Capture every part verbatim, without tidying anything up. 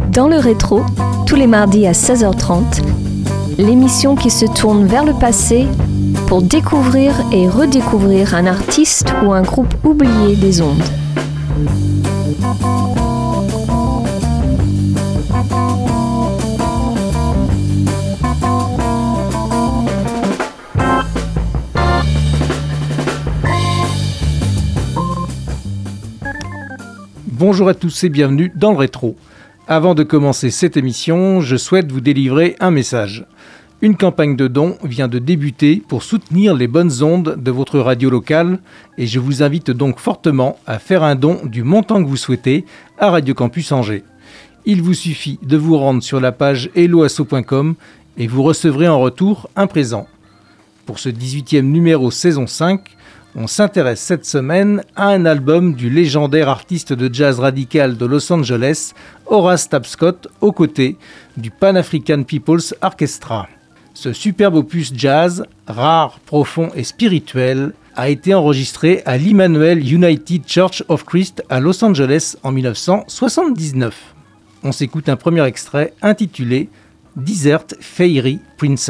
Dans le rétro, tous les mardis à seize heures trente, l'émission qui se tourne vers le passé pour découvrir et redécouvrir un artiste ou un groupe oublié des ondes. Bonjour à tous et bienvenue dans le rétro. Avant de commencer cette émission, je souhaite vous délivrer un message. Une campagne de dons vient de débuter pour soutenir les bonnes ondes de votre radio locale et je vous invite donc fortement à faire un don du montant que vous souhaitez à Radio Campus Angers. Il vous suffit de vous rendre sur la page hello asso point com et vous recevrez en retour un présent. Pour ce dix-huitième numéro saison cinq, on s'intéresse cette semaine à un album du légendaire artiste de jazz radical de Los Angeles, Horace Tapscott, aux côtés du Pan African People's Orchestra. Ce superbe opus jazz, rare, profond et spirituel, a été enregistré à l'Emmanuel United Church of Christ à Los Angeles en dix-neuf cent soixante-dix-neuf. On s'écoute un premier extrait intitulé « Desert Fairy Princess ».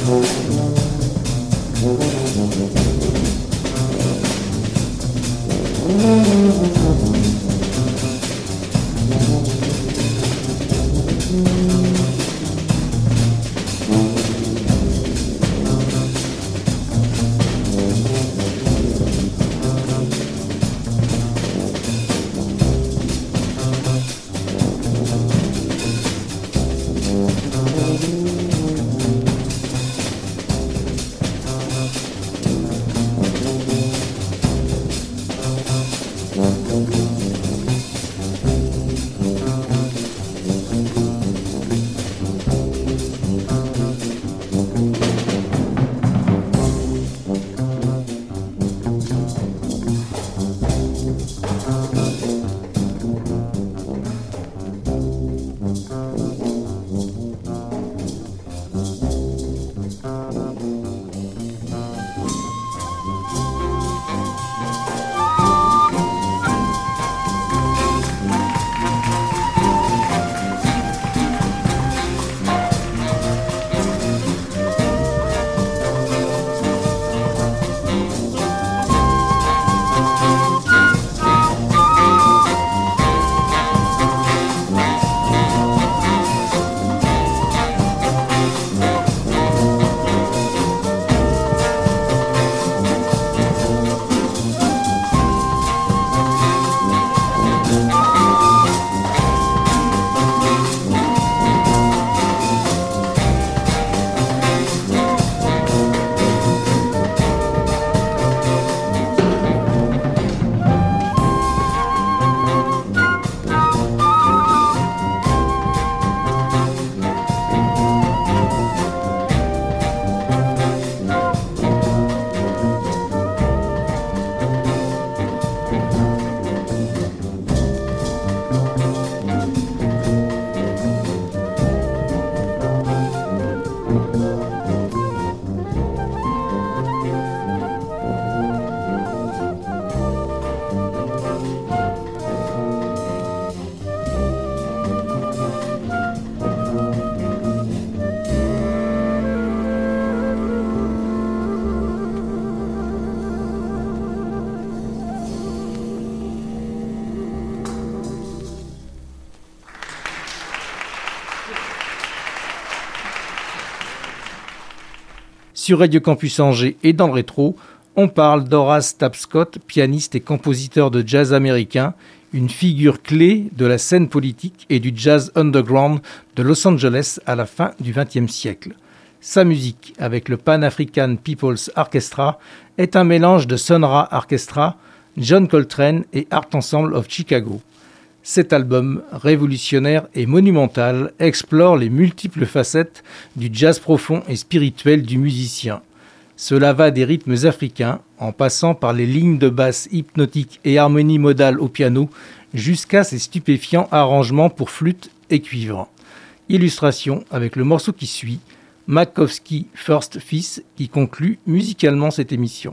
Sur Radio Campus Angers et dans le rétro, on parle d'Horace Tapscott, pianiste et compositeur de jazz américain, une figure clé de la scène politique et du jazz underground de Los Angeles à la fin du vingtième siècle. Sa musique, avec le Pan African People's Orchestra, est un mélange de Sun Ra Orchestra, John Coltrane et Art Ensemble of Chicago. Cet album, révolutionnaire et monumental, explore les multiples facettes du jazz profond et spirituel du musicien. Cela va des rythmes africains, en passant par les lignes de basse hypnotiques et harmonies modales au piano, jusqu'à ses stupéfiants arrangements pour flûte et cuivre. Illustration avec le morceau qui suit, Makowski First Fils, qui conclut musicalement cette émission.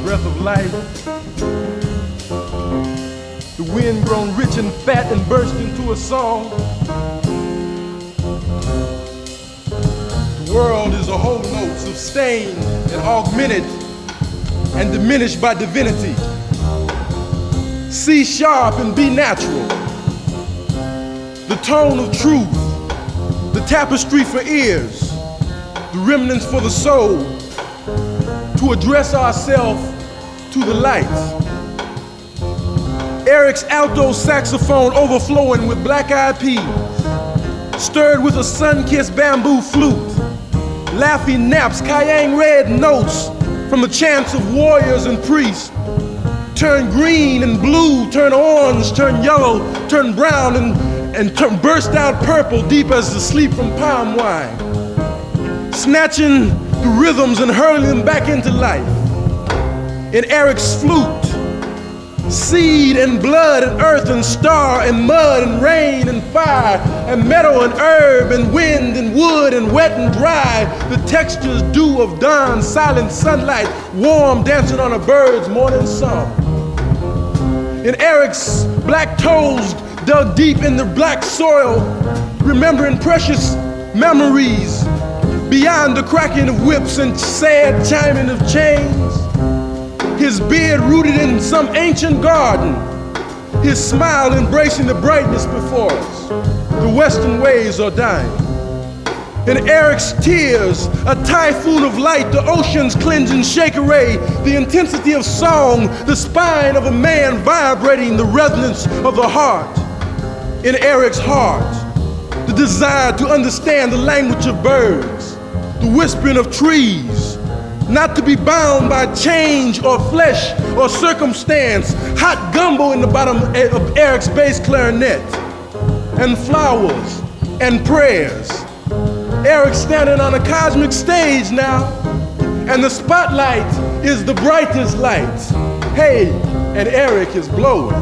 breath of life. The wind grown rich and fat and burst into a song. The world is a whole note, sustained and augmented and diminished by divinity. C sharp and B natural. The tone of truth, the tapestry for ears, the remnants for the soul, to address ourselves to the light. Eric's alto saxophone overflowing with black-eyed peas, stirred with a sun-kissed bamboo flute, laughing naps, cayenne red notes from the chants of warriors and priests, turn green and blue, turn orange, turn yellow, turn brown, and, and turn, burst out purple deep as the sleep from palm wine, snatching the rhythms and hurling them back into life. In Eric's flute, seed and blood and earth and star and mud and rain and fire and meadow and herb and wind and wood and wet and dry, the textures dew of dawn, silent sunlight, warm dancing on a bird's morning song. In Eric's black toes dug deep in the black soil, remembering precious memories beyond the cracking of whips and sad chiming of chains. His beard rooted in some ancient garden, his smile embracing the brightness before us. The western ways are dying. In Eric's tears, a typhoon of light, the ocean's cleansing shake array, the intensity of song, the spine of a man vibrating the resonance of the heart. In Eric's heart, the desire to understand the language of birds, the whispering of trees, not to be bound by change or flesh or circumstance, hot gumbo in the bottom of Eric's bass clarinet, and flowers and prayers. Eric standing on a cosmic stage now, and the spotlight is the brightest light. Hey, and Eric is blowing.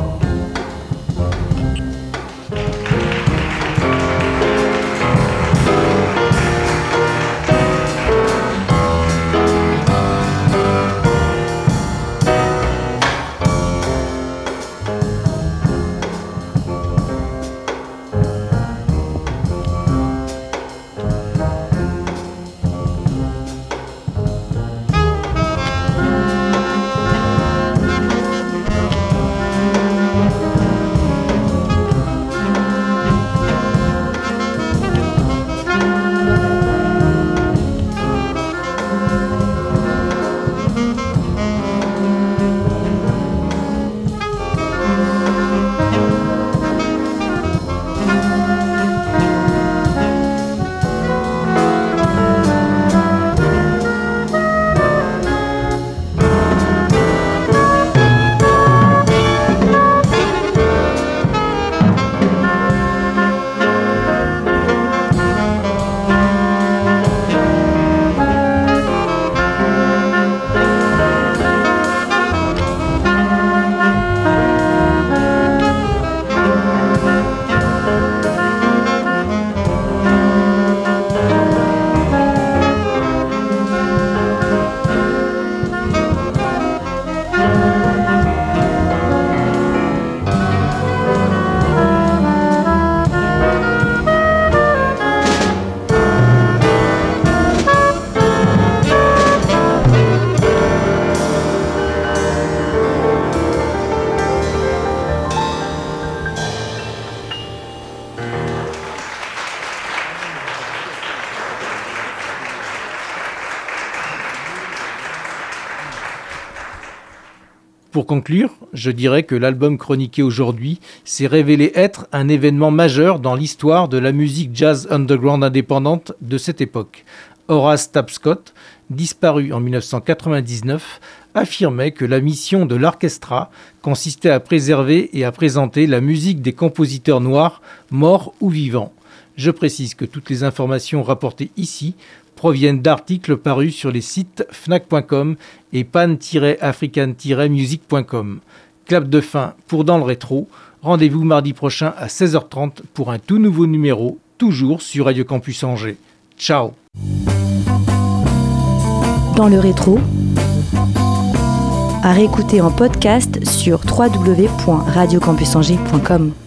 Pour conclure, je dirais que l'album chroniqué aujourd'hui s'est révélé être un événement majeur dans l'histoire de la musique jazz underground indépendante de cette époque. Horace Tapscott, disparu en dix-neuf cent quatre-vingt-dix-neuf, affirmait que la mission de l'orchestra consistait à préserver et à présenter la musique des compositeurs noirs, morts ou vivants. Je précise que toutes les informations rapportées ici proviennent d'articles parus sur les sites fnac point com et pan tiret african tiret music point com. Clap de fin pour Dans le Rétro. Rendez-vous mardi prochain à seize heures trente pour un tout nouveau numéro, toujours sur Radio Campus Angers. Ciao. Dans le Rétro, à réécouter en podcast sur w w w point radio campus angers point com.